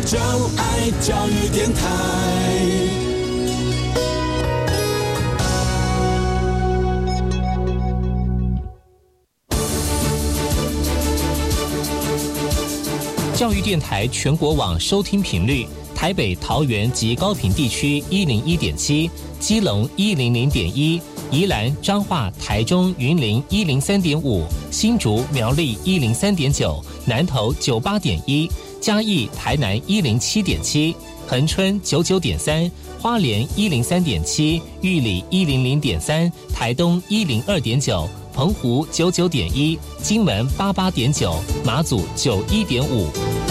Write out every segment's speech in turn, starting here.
就爱教育电台。 教育电台全国网收听频率：台北、桃园及高屏地区101.7，基隆100.1，宜兰、彰化、台中、云林103.5，新竹、苗栗103.9，南投98.1，嘉义、台南107.7，恒春99.3，花莲103.7，玉里100.3，台东102.9。澎湖99.1，金门88.9，马祖91.5。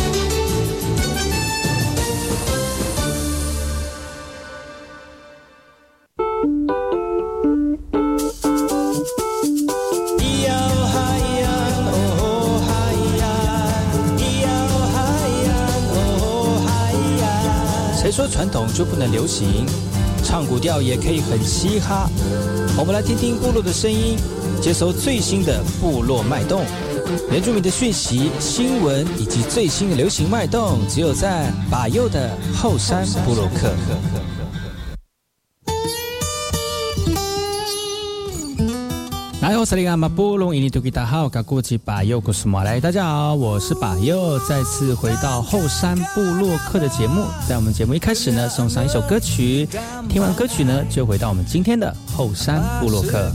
谁说传统就不能流行？唱古调也可以很嘻哈。我们来听听部落的声音，接收最新的部落脉动，原住民的讯息、新闻以及最新的流行脉动，只有在把右的后山部落客。大家好，我是把右，再次回到后山部落客的节目。在我们节目一开始呢，送上一首歌曲，听完歌曲呢，就回到我们今天的后山部落客。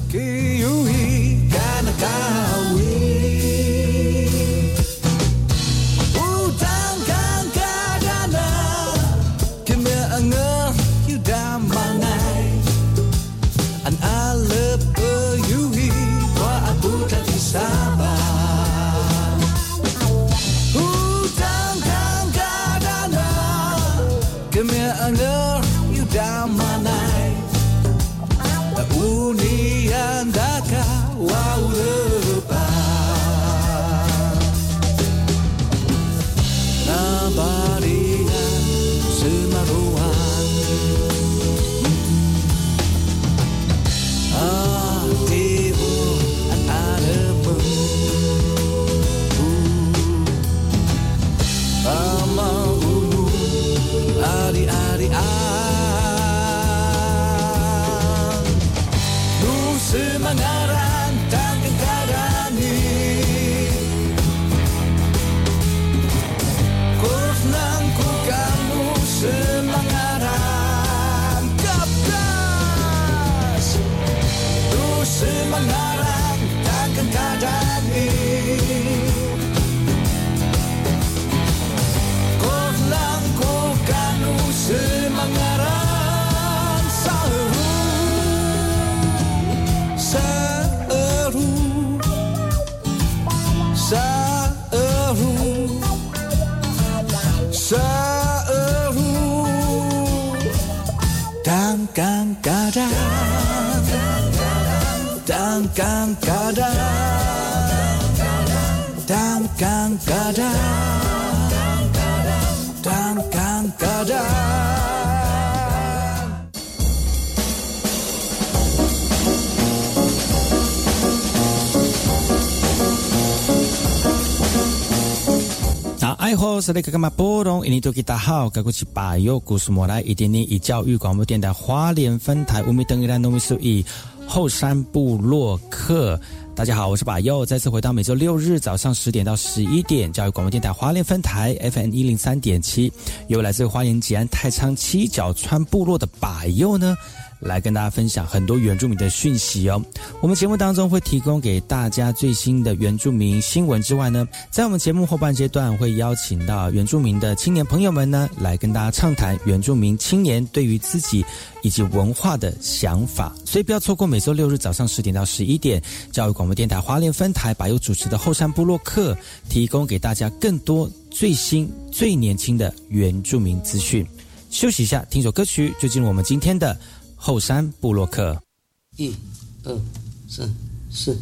爱好是那个干嘛波动？印尼多吉大好，该过去把右故事莫来一点点以教育广播电台花莲分台乌米登伊兰农米苏以后山部落客。大家好，我是把右，再次回到每周六日早上10点到11点，教育广播电台花莲分台 FM 103.7，由来自花莲吉安太仓七角川部落的把右呢，来跟大家分享很多原住民的讯息哦。我们节目当中会提供给大家最新的原住民新闻之外呢，在我们节目后半阶段会邀请到原住民的青年朋友们呢，来跟大家畅谈原住民青年对于自己以及文化的想法。所以不要错过每周六日早上10点到11点，教育广播电台花莲分台把右主持的后山部落客，提供给大家更多最新最年轻的原住民资讯。休息一下，听首歌曲，就进入我们今天的后山部落客。1、2、3、4。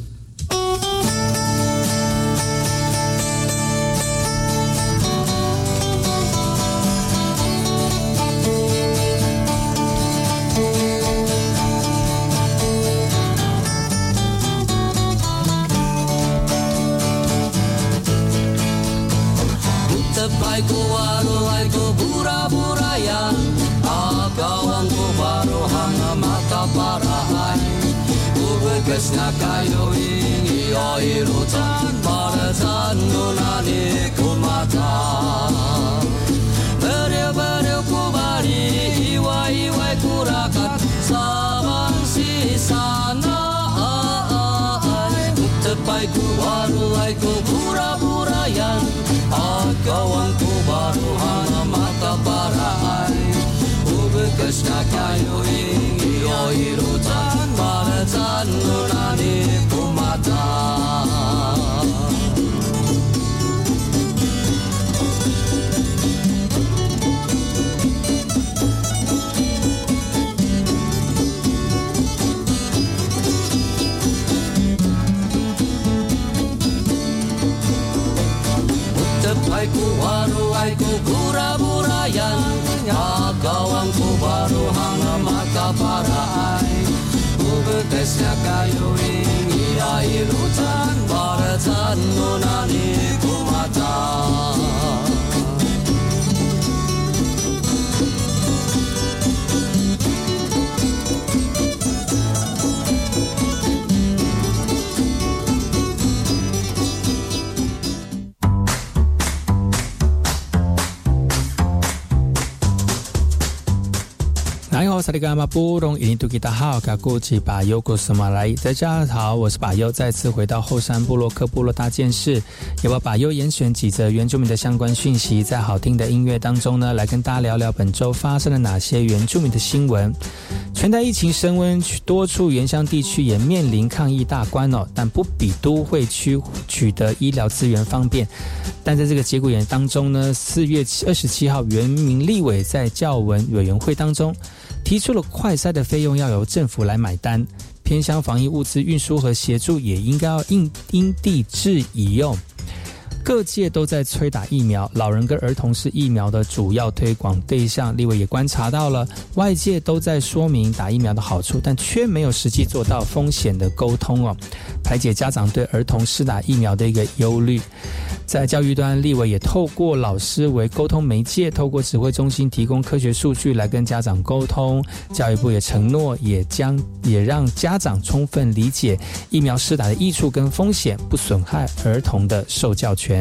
拜古瓦罗爱古 na kayo iilutan Parasan nunani kumata Beriau-beriau kubari Iwai-iwai kurakat Sabang sisana Tepai ku waruai ku pura-purayan Agawan ku baru hana mata parai Ubekas na kayo iilutan Parasan nunani kumata Ku waruai ku pura-purayan Agawang ku baru hana maka parai Ubekesnya kayu ia ilutan Barasan nunani kumata 萨利嘎马布隆，印度吉达好，嘎古吉巴尤古斯马来，大家好，我是巴尤，再次回到后山部落克部落大件事，也把巴尤严选几则原住民的相关讯息，在好听的音乐当中呢，来跟大家聊聊本周发生了哪些原住民的新闻。全台疫情升温，多处原乡地区也面临抗疫大关哦，但不比都会区取得医疗资源方便。但在这个节骨眼当中呢，4月27号，原民立委在教文委员会当中提出了快筛的费用要由政府来买单，偏乡防疫物资运输和协助也应该要因地制宜哦。各界都在催打疫苗，老人跟儿童是疫苗的主要推广对象。立委也观察到了，外界都在说明打疫苗的好处，但却没有实际做到风险的沟通哦，排解家长对儿童施打疫苗的一个忧虑。在教育端，立委也透过老师为沟通媒介，透过指挥中心提供科学数据来跟家长沟通。教育部也承诺，也让家长充分理解疫苗施打的益处跟风险，不损害儿童的受教权。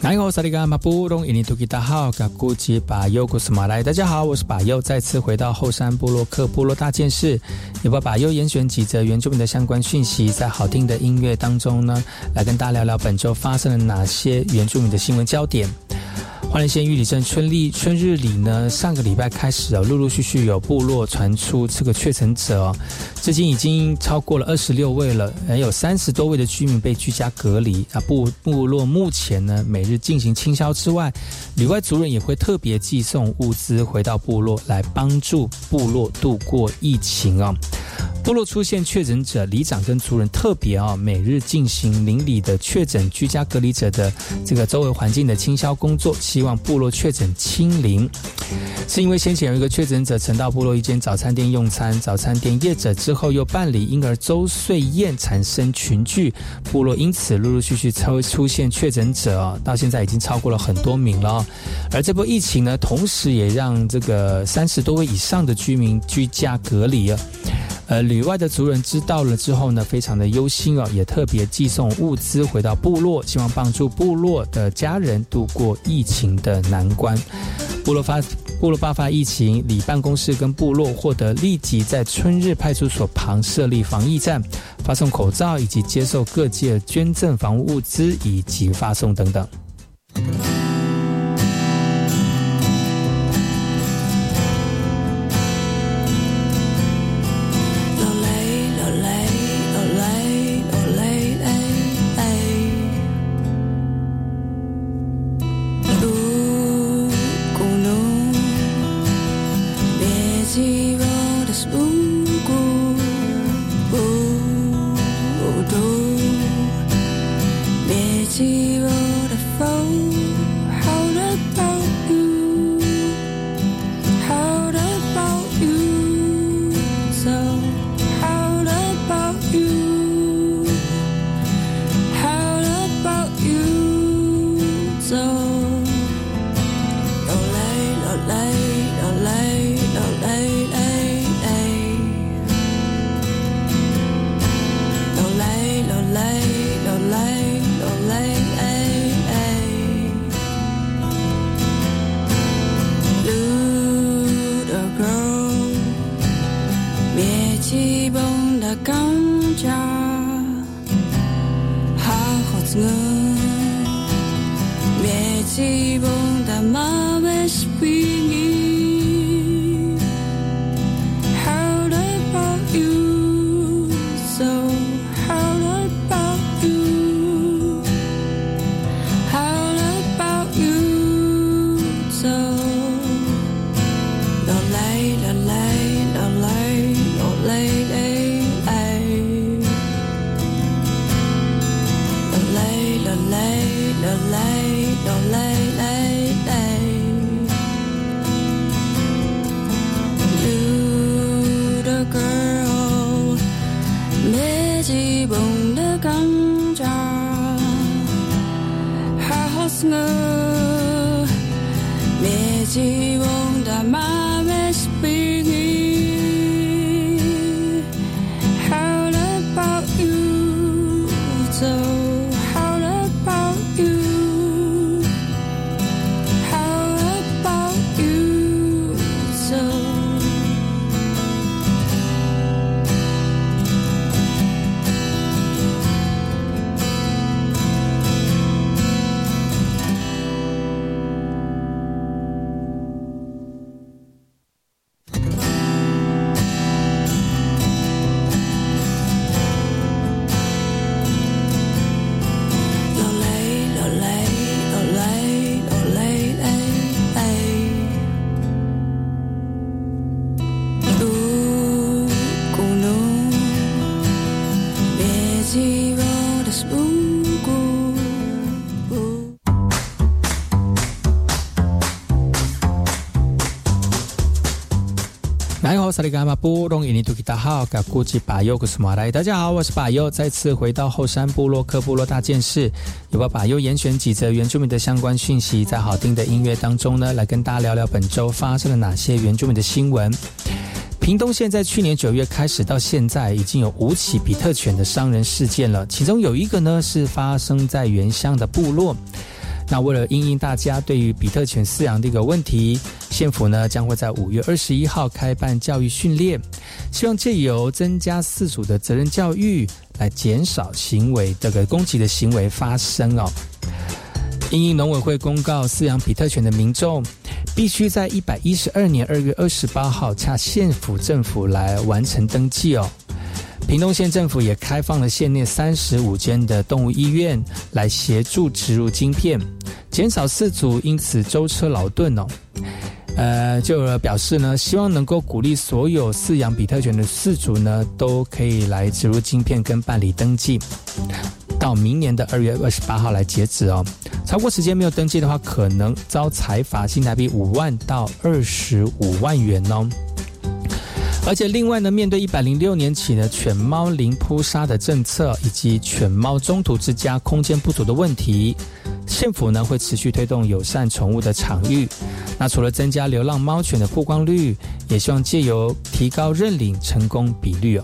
大家好，我是把佑，再次回到后山部落客部落大件事，也把佑严选几则原住民的相关讯息，在好听的音乐当中呢，来跟大家聊聊本周发生了哪些原住民的新闻焦点。花莲县玉里镇春日里呢，上个礼拜开始陆陆续续有部落传出这个确诊者至今已经超过了26位了，有30多位的居民被居家隔离。部落目前呢，每日进行清消之外，旅外族人也会特别寄送物资回到部落，来帮助部落度过疫情部落出现确诊者，里长跟族人特别每日进行邻里的确诊居家隔离者的这个周围环境的清消工作，希望部落确诊清零。是因为先前有一个确诊者曾到部落一间早餐店用餐，早餐店业者之后又办理婴儿周岁宴，产生群聚，部落因此陆陆续续出现确诊者到现在已经超过了很多名了而这波疫情呢，同时也让这个30多位以上的居民居家隔离旅外的族人知道了之后呢，非常的忧心也特别寄送物资回到部落，希望帮助部落的家人度过疫情的难关。部落爆发疫情，里办公室跟部落获得立即在春日派出所旁设立防疫站，发送口罩以及接受各界捐赠防护物资以及发送等等。大家好，我是把佑，再次回到后山部落客部落大件事，也把佑严选几则原住民的相关讯息，在好听的音乐当中呢，来跟大家聊聊本周发生了哪些原住民的新闻。屏东县在去年9月开始到现在，已经有5起比特犬的伤人事件了，其中有一个呢是发生在原乡的部落。 那为了因应大家对于比特犬饲养的一个问题，县府呢将会在5月21号开办教育训练，希望借由增加饲主的责任教育，来减少攻击的行为发生哦。因应农委会公告，饲养比特犬的民众必须在112年2月28号洽县府政府来完成登记哦。屏东县政府也开放了县内35间的动物医院来协助植入晶片，减少饲主因此舟车劳顿哦。就表示呢，希望能够鼓励所有饲养比特犬的饲主呢，都可以来植入晶片跟办理登记，到明年的2月28号来截止哦。超过时间没有登记的话，可能遭裁罚新台币5万到25万元哦。而且另外呢，面对106年起的犬猫零扑杀的政策，以及犬猫中途之家空间不足的问题，县府呢会持续推动友善宠物的场域。那除了增加流浪猫犬的曝光率，也希望借由提高认领成功比率哦。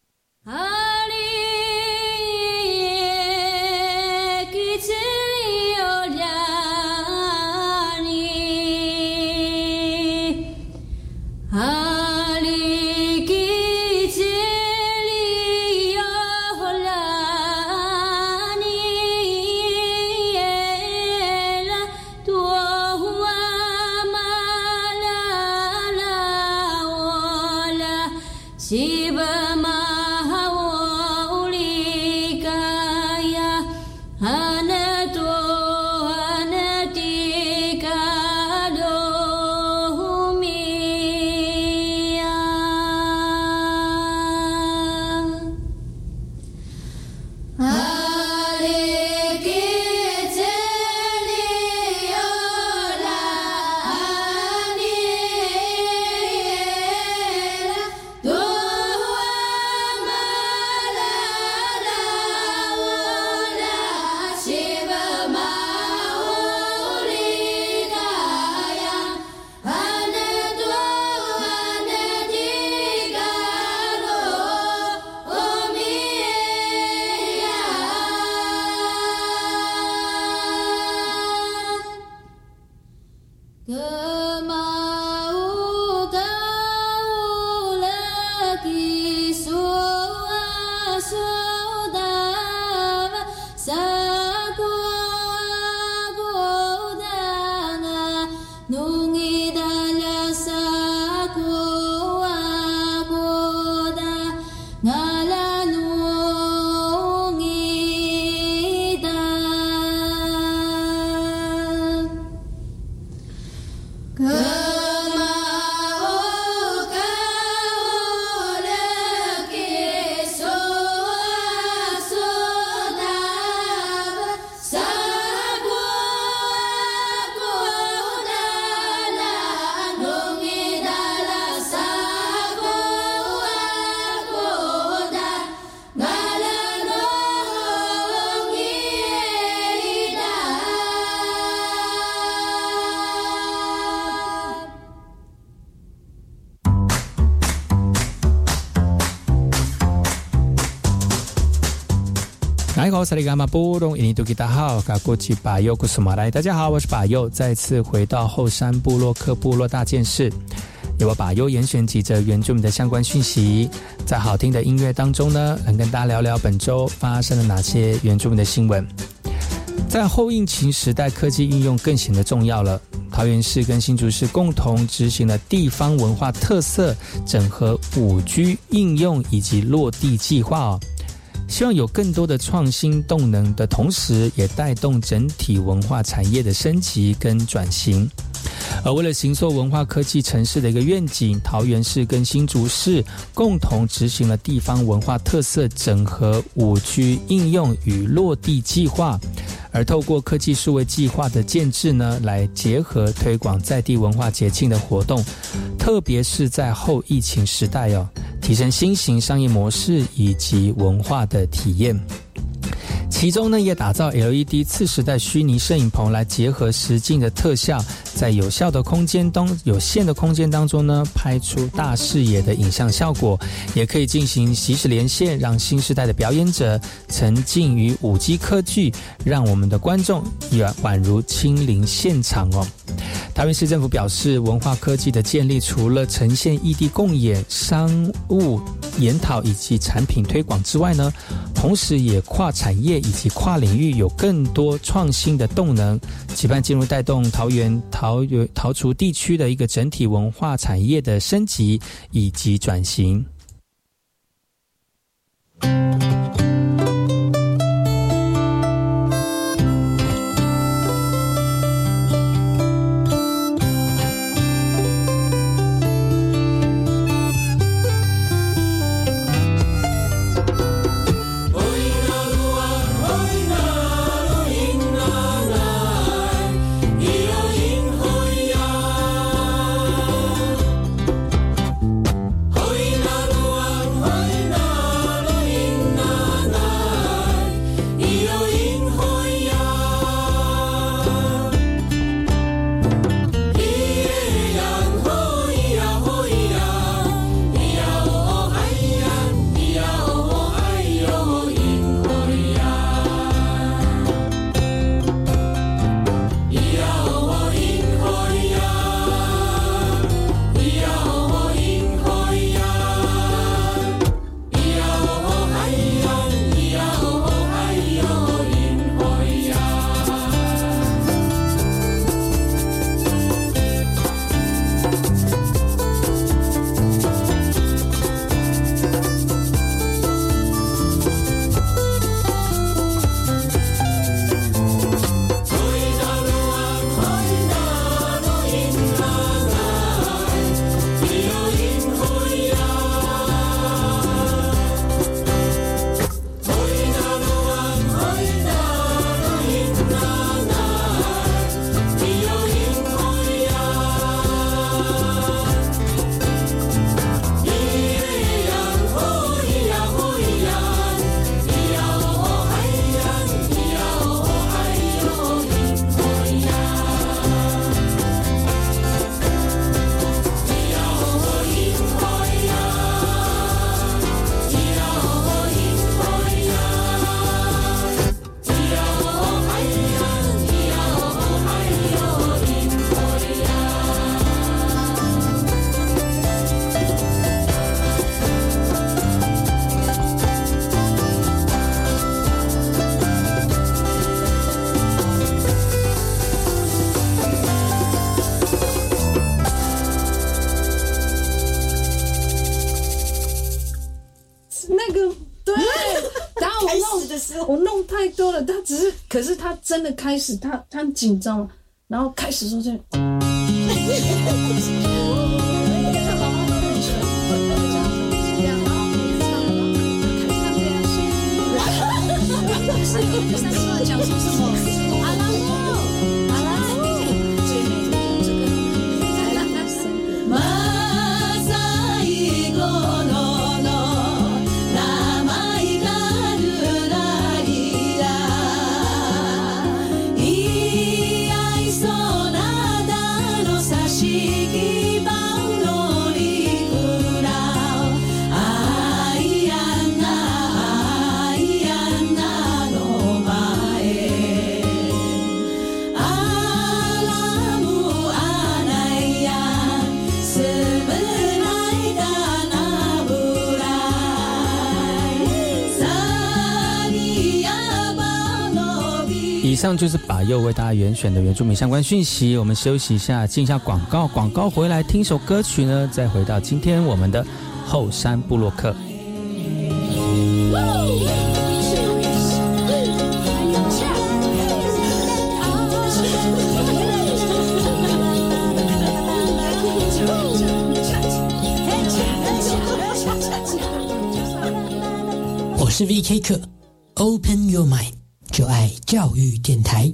大家好，我是把佑，再次回到后山部落客部落大件事，由我把佑严选几则原住民的相关讯息，在好听的音乐当中呢，能跟大家聊聊本周发生了哪些原住民的新闻。在后疫情时代，科技运用更显得重要了。桃园市跟新竹市共同执行了地方文化特色整合 5G 应用以及落地计划哦，希望有更多的创新动能的同时，也带动整体文化产业的升级跟转型。而为了形塑文化科技城市的一个愿景，桃园市跟新竹市共同执行了地方文化特色整合 5G 应用与落地计划，而透过科技数位计划的建制呢，来结合推广在地文化节庆的活动，特别是在后疫情时代哦，提升新型商业模式以及文化的体验。 其中呢也打造 LED 次时代虚拟摄影棚来结合实境的特效，在有限的空间当中呢拍出大视野的影像效果，也可以进行即时连线，让新时代的表演者沉浸于5G 科技，让我们的观众也宛如亲临现场哦。桃园市政府表示，文化科技的建立除了呈现异地共演、商务研讨以及产品推广之外呢，同时也跨产业以及跨领域有更多创新的动能，期盼进入带动桃园桃竹地区的一个整体文化产业的升级以及转型。 我弄太多了，可是他真的开始，他很紧张，然后开始说这。讲出什么？阿拉木，阿拉木，姐妹讲这个。 以上就是把佑为大家严选的原住民相关讯息，我们休息一下，进一下广告，广告回来听首歌曲呢，再回到今天我们的后山部落客。 我是 VK 客 ，Open Your Mind， 就爱教育电台。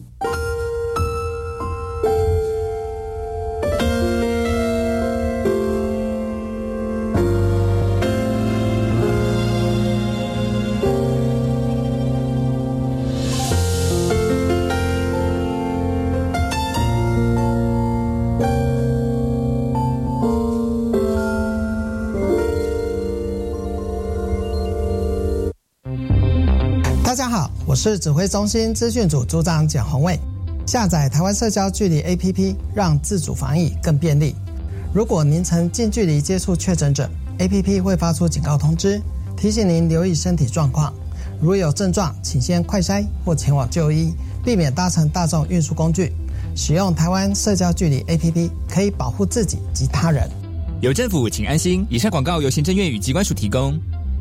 大家好，我是指挥中心资讯组组长简宏伟。下载台湾社交距离 APP， 让自主防疫更便利。如果您曾近距离接触确诊者， APP 会发出警告通知，提醒您留意身体状况。如有症状，请先快筛或前往就医，避免搭乘大众运输工具。使用台湾社交距离 APP 可以保护自己及他人。 有政府，请安心。以上广告由行政院与疾管署提供。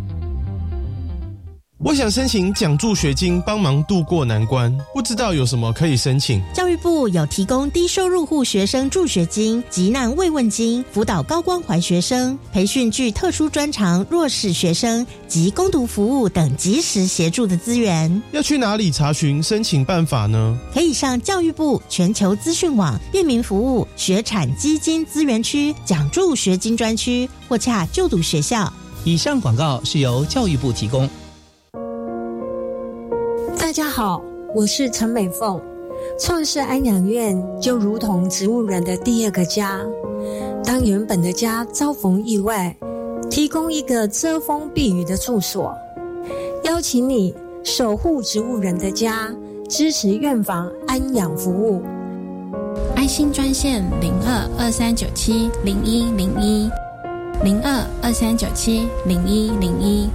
我想申请奖助学金，帮忙度过难关，不知道有什么可以申请。 教育部有提供低收入户学生助学金、急难慰问金，辅导高关怀学生，培训具特殊专长弱势学生及工读服务等及时协助的资源。 要去哪里查询申请办法呢？ 可以上教育部全球资讯网便民服务学产基金资源区奖助学金专区，或洽就读学校。 以上广告是由教育部提供。 大家好，我是陈美凤。创世安养院就如同植物人的第二个家，当原本的家遭逢意外，提供一个遮风避雨的住所。邀请你守护植物人的家，支持院房安养服务。 爱心专线0223970101 0223970101。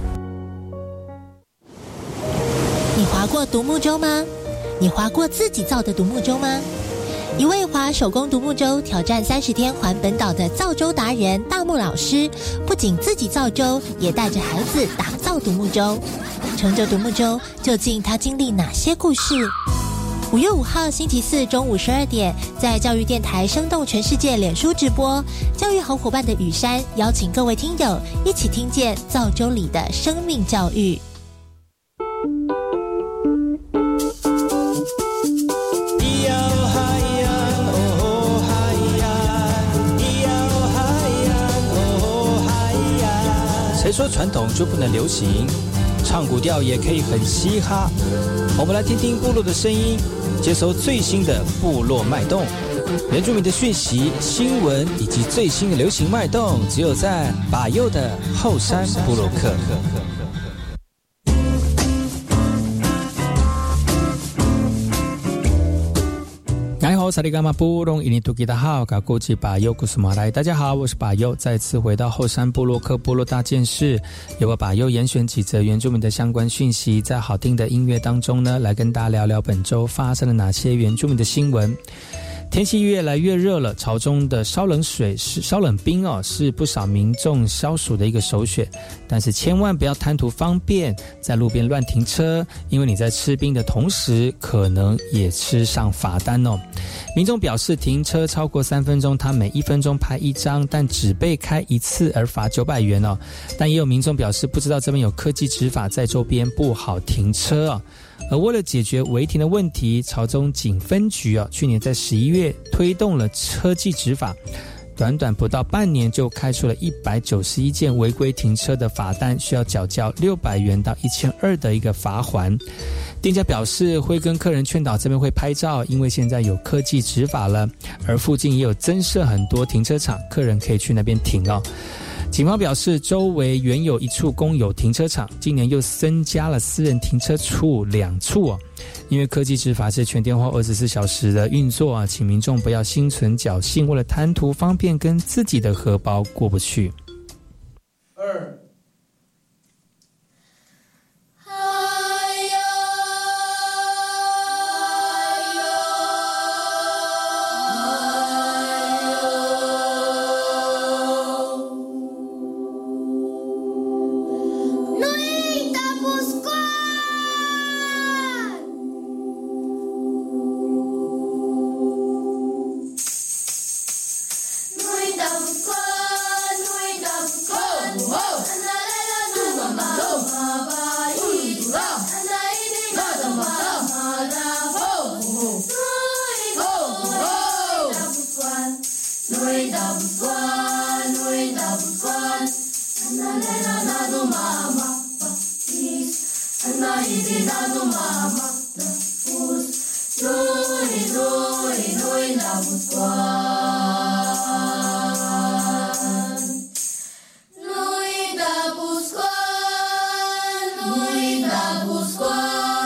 你划过独木舟吗？你划过自己造的独木舟吗？一位划手工独木舟挑战30天环本岛的造舟达人大木老师，不仅自己造舟，也带着孩子打造独木舟。乘着独木舟，究竟他经历哪些故事？5月5号星期四中午12点，在教育电台生动全世界脸书直播，教育好伙伴的雨山邀请各位听友一起听见造舟里的生命教育。 谁说传统就不能流行？唱古调也可以很嘻哈。我们来听听部落的声音，接收最新的部落脉动、原住民的讯息、新闻以及最新的流行脉动，只有在把右的后山部落客。萨利伽马布隆伊尼图吉达好，嘎古吉巴尤古斯马来，大家好，我是巴尤，再次回到后山部落客部落大件事，由我巴尤严选几则原住民的相关讯息，在好听的音乐当中呢，来跟大家聊聊本周发生了哪些原住民的新闻。天气越来越热了，潮中的烧冷水是烧冷冰是不少民众消暑的一个首选，但是千万不要贪图方便，在路边乱停车，因为你在吃冰的同时，可能也吃上罚单哦。民众表示，停车超过3分钟，他每1分钟拍1张，但只被开1次而罚900元哦。但也有民众表示，不知道这边有科技执法，在周边不好停车哦。而为了解决违停的问题，潮中警分局去年在11月推动了车技执法，短短不到半年就开出了191件违规停车的罚单，需要缴交600元到1200的一个罚锾。店家表示会跟客人劝导这边会拍照，因为现在有科技执法了，而附近也有增设很多停车场，客人可以去那边停哦。警方表示，周围原有1处公有停车场，今年又增加了私人停车处2处哦。因为科技执法是全天候24小时的运作啊，请民众不要心存侥幸，为了贪图方便跟自己的荷包过不去。 Busquan.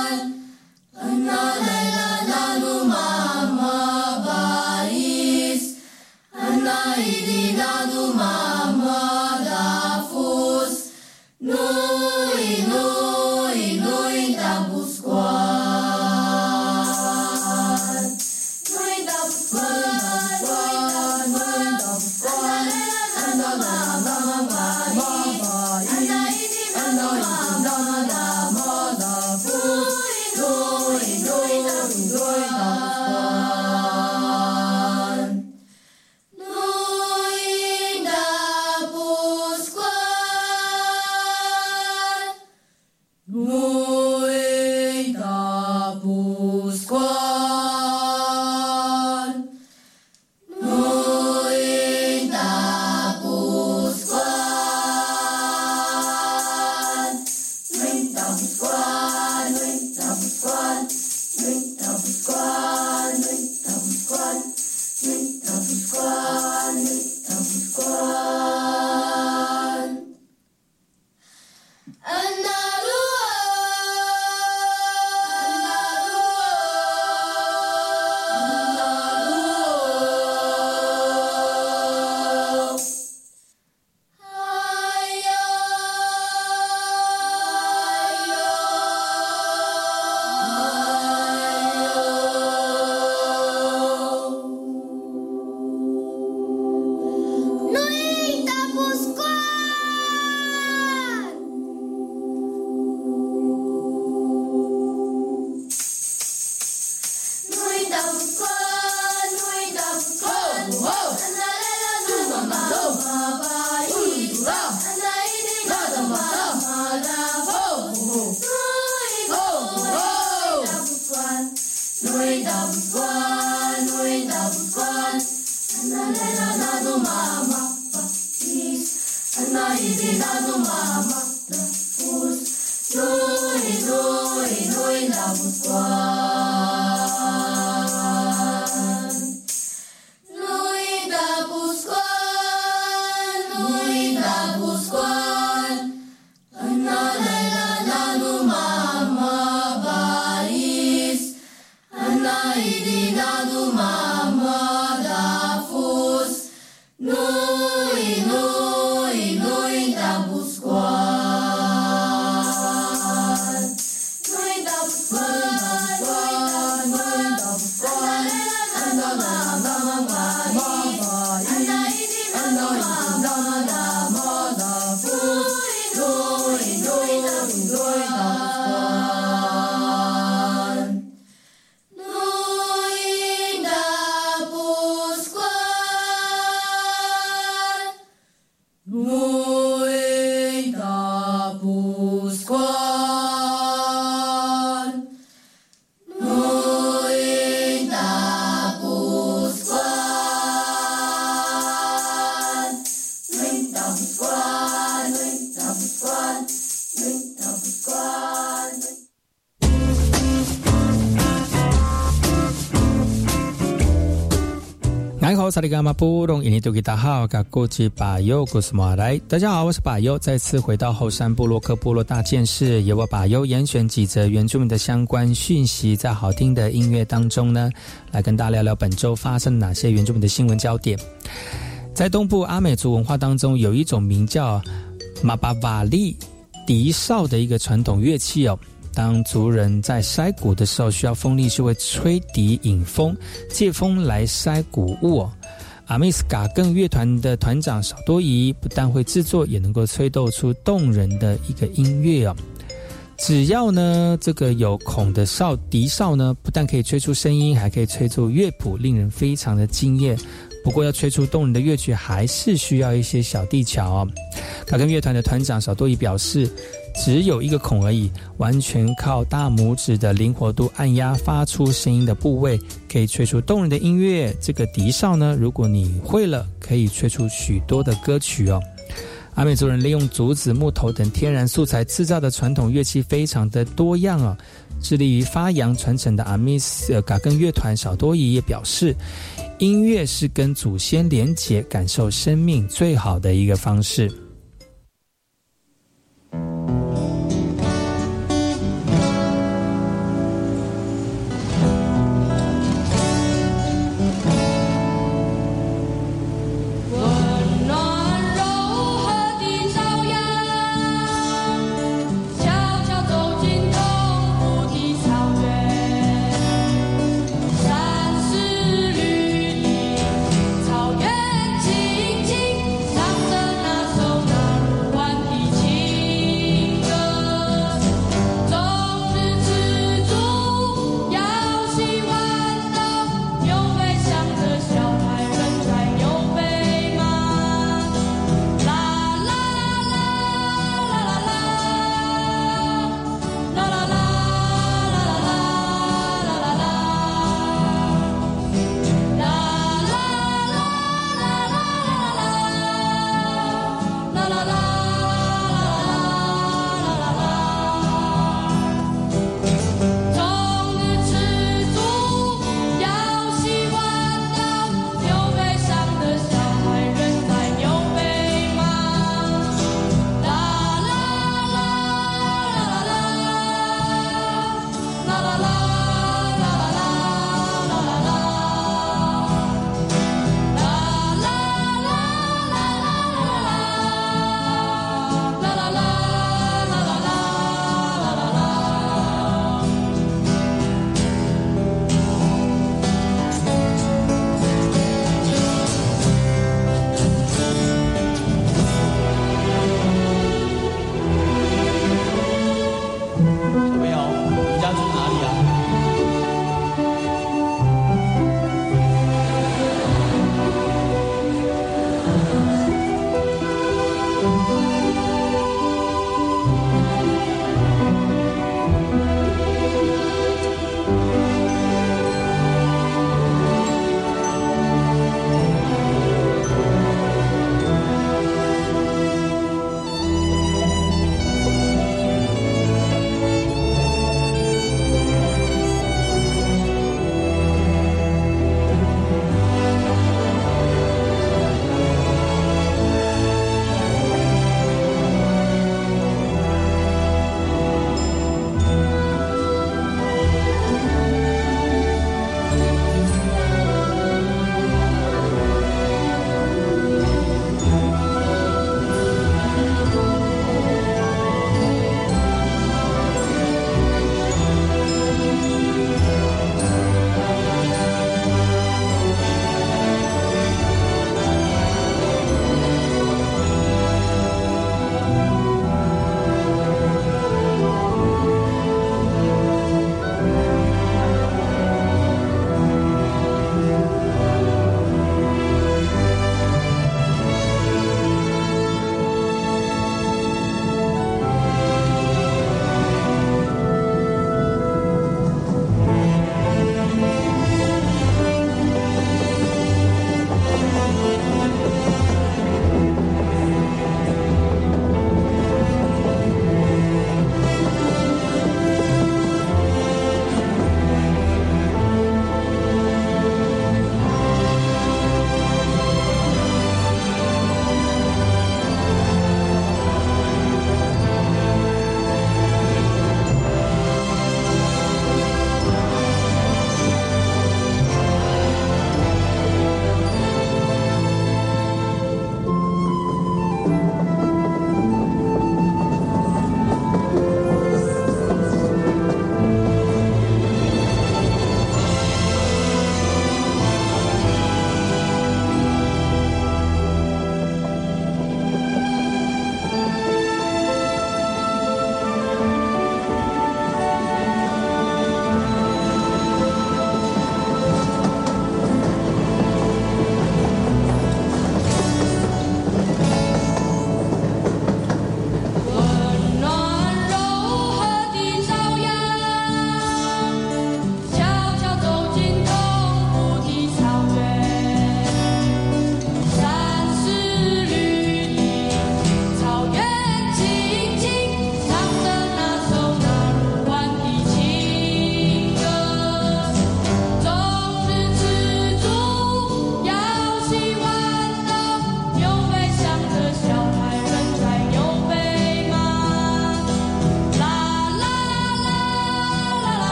大家好，我是巴优，再次回到后山部落克部落大件事，由我巴优严选几则原住民的相关讯息，在好听的音乐当中呢，来跟大家聊聊本周发生哪些原住民的新闻焦点。在东部阿美族文化当中，有一种名叫马巴瓦利笛哨的一个传统乐器哦。当族人在筛谷的时候，需要风力是会吹笛引风，借风来筛谷物哦。阿密斯嘎更乐团的团长少多仪不但会制作，也能够吹奏出动人的一个音乐哦。只要呢这个有孔的笛哨呢，不但可以吹出声音，还可以吹出乐谱，令人非常的惊艳。不过要吹出动人的乐曲，还是需要一些小技巧哦。嘎更乐团的团长少多仪表示，只有一个孔而已，完全靠大拇指的灵活度按压发出声音的部位，可以吹出动人的音乐。这个笛哨呢，如果你会了，可以吹出许多的歌曲哦。阿美族人利用竹子、木头等天然素材制造的传统乐器非常的多样哦。致力于发扬传承的阿密斯嘎更乐团少多仪也表示，音乐是跟祖先连结、感受生命最好的一个方式。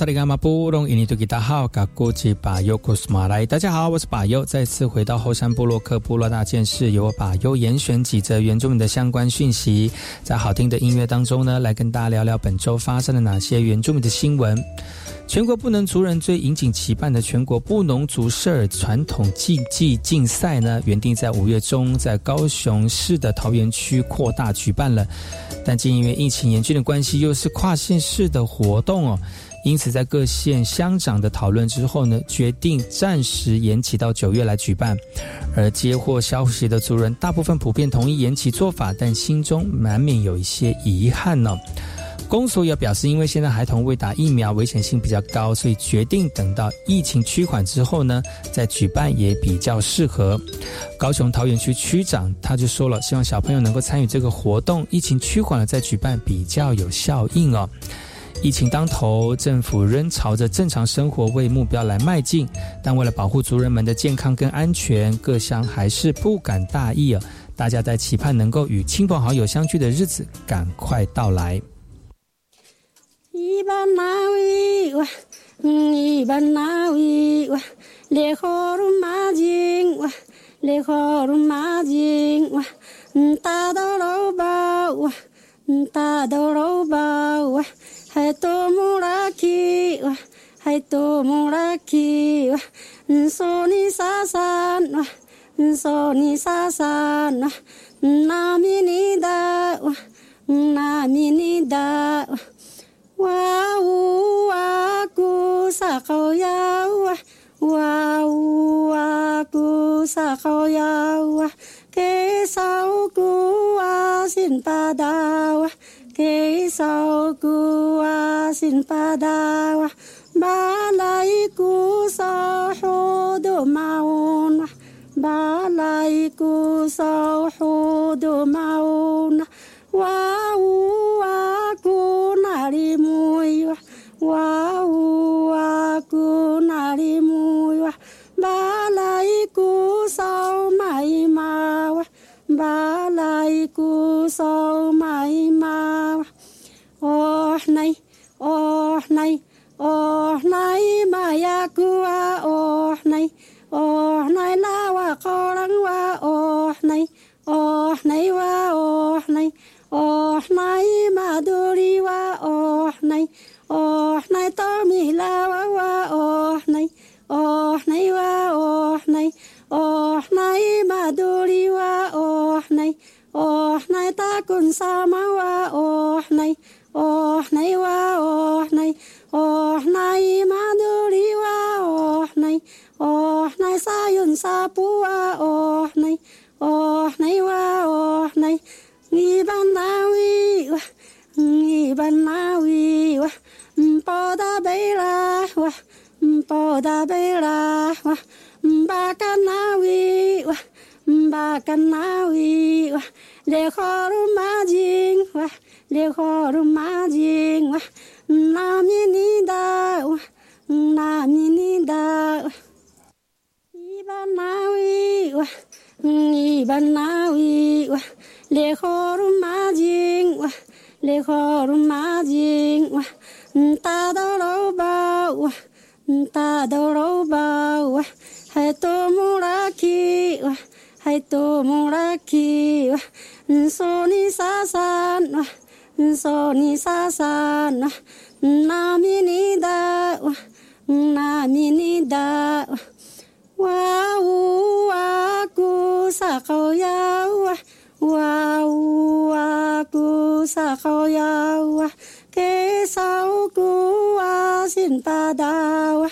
萨利伽马布隆伊尼图吉达好，嘎古吉巴尤库斯马来，大家好，我是巴尤，再次回到后山部落客部落大件事，由我巴尤严选几则原住民的相关讯息，在好听的音乐当中呢，来跟大家聊聊本周发生了哪些原住民的新闻。全国布农族人最引颈期盼的全国布农族社尔传统竞技竞赛呢，原定在5月中在高雄市的桃园区扩大举办了，但竟因为疫情严峻的关系，又是跨县市的活动哦，因此在各县乡长的讨论之后呢，决定暂时延期到9月来举办。而接获消息的族人大部分普遍同意延期做法，但心中难免有一些遗憾呢。公所也表示，因为现在孩童未打疫苗危险性比较高，所以决定等到疫情趋缓之后呢，再举办也比较适合。高雄桃园区区长他就说了，希望小朋友能够参与这个活动，疫情趋缓了再举办比较有效应哦。疫情当头，政府仍朝着正常生活为目标来迈进，但为了保护族人们的健康跟安全，各乡还是不敢大意哦。大家在期盼能够与亲朋好友相聚的日子赶快到来。 Ibanawi wa Ibanawi wa le khoru majing wa le khoru majing wa ta do lo ba wa ta do lo ba wa hai to muraki wa hai to muraki wa so ni sasan wa so ni sasan wa nami ni da wa nami ni da Wau aku sakauyawa, wau aku sakauyawa, kesauku asin padawa, kesauku asin padawa, balaiku sahudu mauna, balaiku sahudu mauna, wau aku narimuiwa, wau aku narimuiwa, balaiku sau mai mawa, balaiku sau mai mawa. Oh nay, oh nay, oh nay mayaku wa, oh nay lawa korang wa, oh nay wa, oh nay. Oh nay maduri wa, oh nay tomilawa wa, oh nay wa, oh nay maduri wa, oh nay takun sama wa, oh nay wa, oh nay maduri wa, oh nay sayun sapu wa, oh nay wa, oh nay Ibanawi wa, Ibanawi wa, Poda bela wa, Poda bela wa, Bakanawi wa, Bakanawi wa, le khoru majing wa, le khoru majing wa, nami da wa, nami da wa, Ibanawi wa, Ibanawi wa. Le khoru majing wa, le khoru majing wa, ta do lo ba wa, ta do lo ba wa, hai to muraki wa, hai to muraki wa, so ni sasan wa, so ni sasan wa, nami ni da wa, nami ni da wa, wau aku sakauyawa. Wau aku sakauyawa, kesauku asin padawa,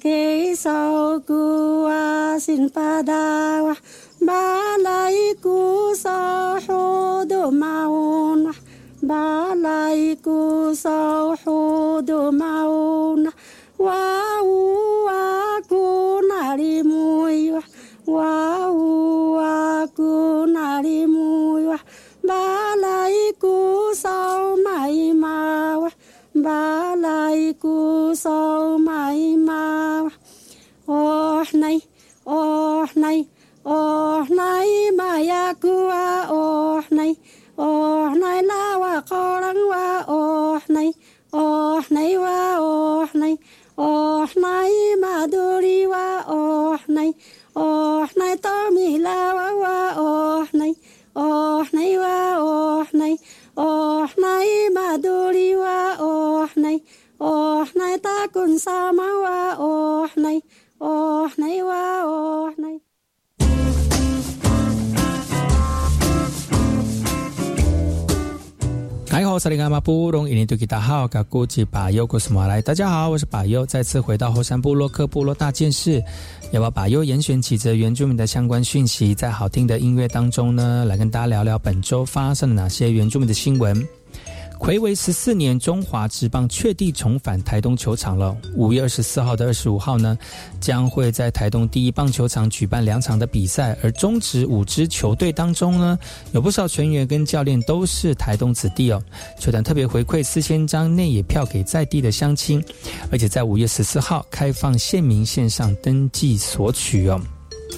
kesauku asin padawa, balaiku sahudu mauna, balaiku sahudu mauna, wau aku narimuiwa, wau aku narimuiwa, balaiku sau mai mawa, balaiku sau mai mawa. Oh nay, oh nay, oh nay mayaku wa, oh nay lawa korang wa, oh nay wa, oh nay oh nay wa oh nay maduri wa oh nay ta kun sama wa oh nay wa oh nay。 大家好，我是巴佑，再次回到后山部落克部落大件事，要把巴佑严选几则原住民的相关讯息，在好听的音乐当中呢，来跟大家聊聊本周发生了哪些原住民的新闻。睽违14年，中华职棒确定重返台东球场了。5月24号的25号呢，将会在台东第一棒球场举办2场的比赛。而中职5支球队当中呢，有不少全员跟教练都是台东子弟哦。球团特别回馈4000张内野票给在地的乡亲，而且在5月14号开放县民线上登记索取哦。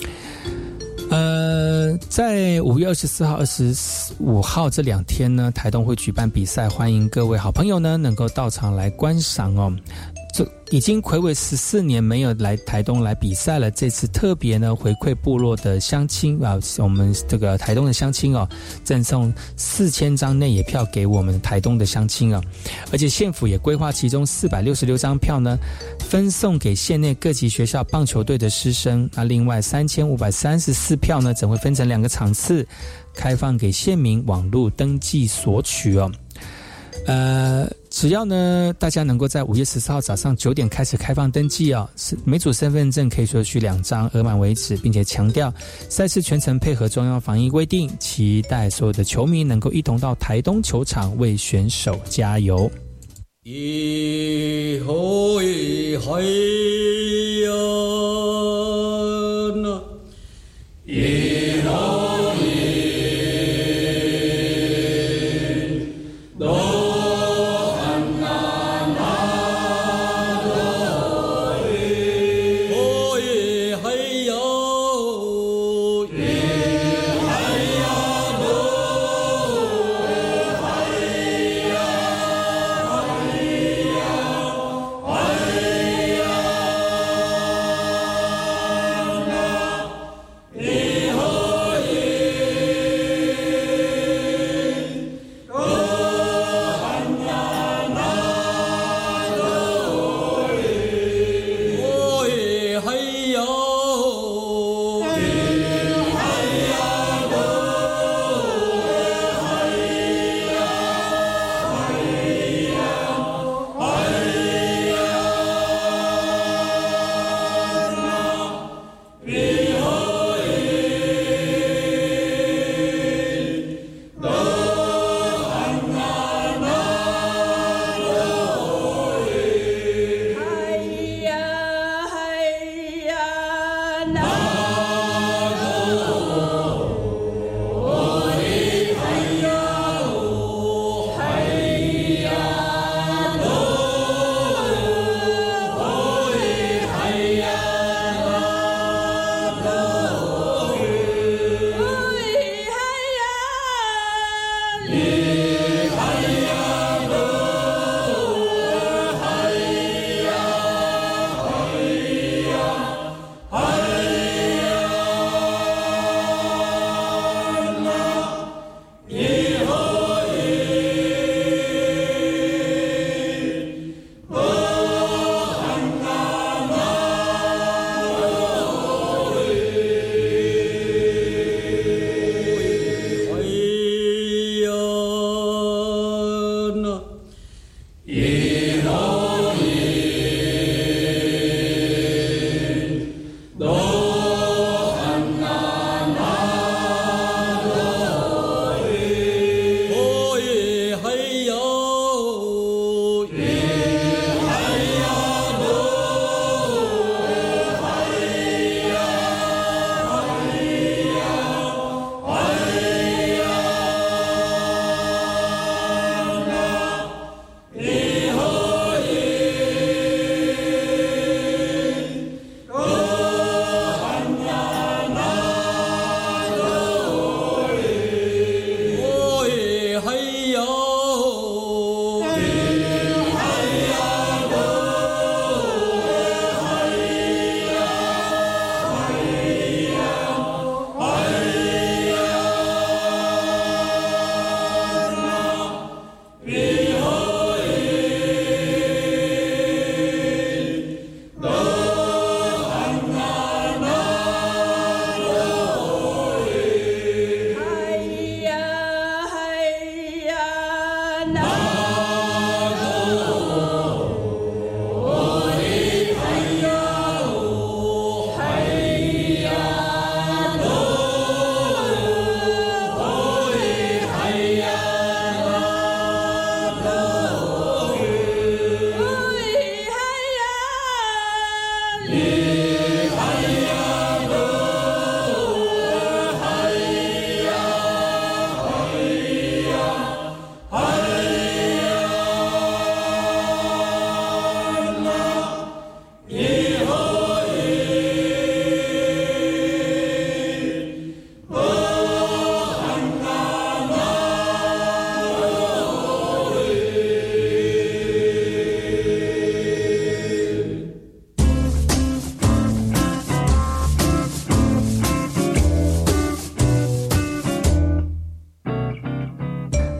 在5月24号、25号这2天呢，台东会举办比赛，欢迎各位好朋友呢能够到场来观赏哦。这已经睽违14年没有来台东来比赛了，这次特别呢回馈部落的乡亲啊，我们这个台东的乡亲哦，赠送4000张内野票给我们台东的乡亲啊，而且县府也规划其中466张票呢，分送给县内各级学校棒球队的师生。那另外3534票呢，则会分成2个场次，开放给县民网络登记索取哦。只要呢大家能够在5月14号早上9点开始开放登记哦，每组身份证可以索取2张，额满为止，并且强调赛事全程配合中央防疫规定，期待所有的球迷能够一同到台东球场为选手加油。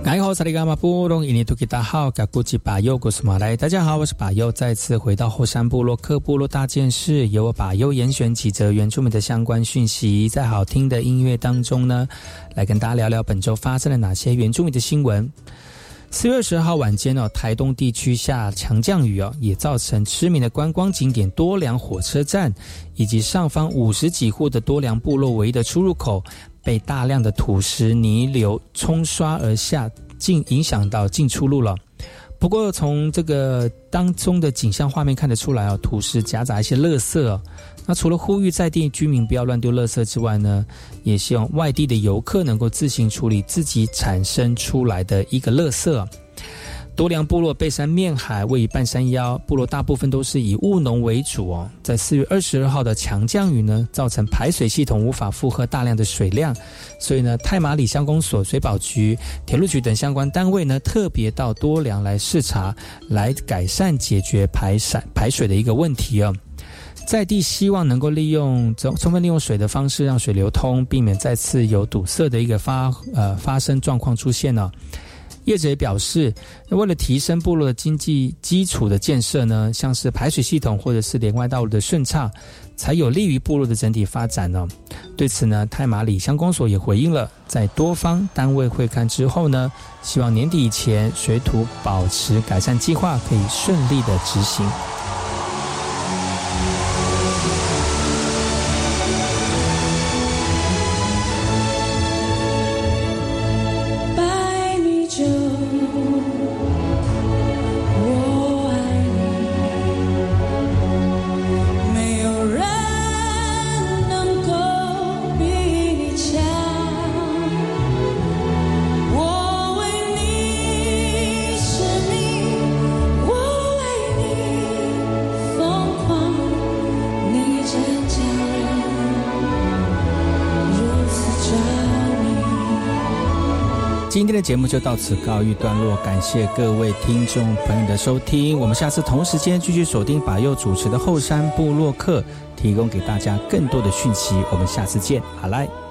大家好，我是把佑，再次回到后山部落克部落大件事，由我把佑严选几则原住民的相关讯息，在好听的音乐当中呢，来跟大家聊聊本周发生了哪些原住民的新闻。4月20号晚间台东地区下强降雨也造成知名的观光景点多良火车站以及上方50几户的多良部落唯一的出入口被大量的土石泥流冲刷而下，影响到进出路了。不过从这个当中的景象画面看得出来土石夹杂一些垃圾那除了呼吁在地居民不要乱丢垃圾之外呢，也希望外地的游客能够自行处理自己产生出来的一个垃圾。多良部落背山面海，位于半山腰，部落大部分都是以务农为主在4月22号的强降雨呢，造成排水系统无法负荷大量的水量，所以呢，太麻里乡公所、水保局、铁路局等相关单位呢，特别到多良来视察，来改善解决排水的一个问题在地希望能够充分利用水的方式让水流通，避免再次有堵塞的一个发生状况出现业者也表示，为了提升部落的经济基础的建设呢，像是排水系统或者是连外道路的顺畅，才有利于部落的整体发展对此呢，太麻里乡公所也回应了，在多方单位会看之后呢，希望年底以前水土保持改善计划可以顺利的执行。今天的节目就到此告一段落，感谢各位听众朋友的收听，我们下次同时间继续锁定把佑主持的后山部落客，提供给大家更多的讯息，我们下次见，好来。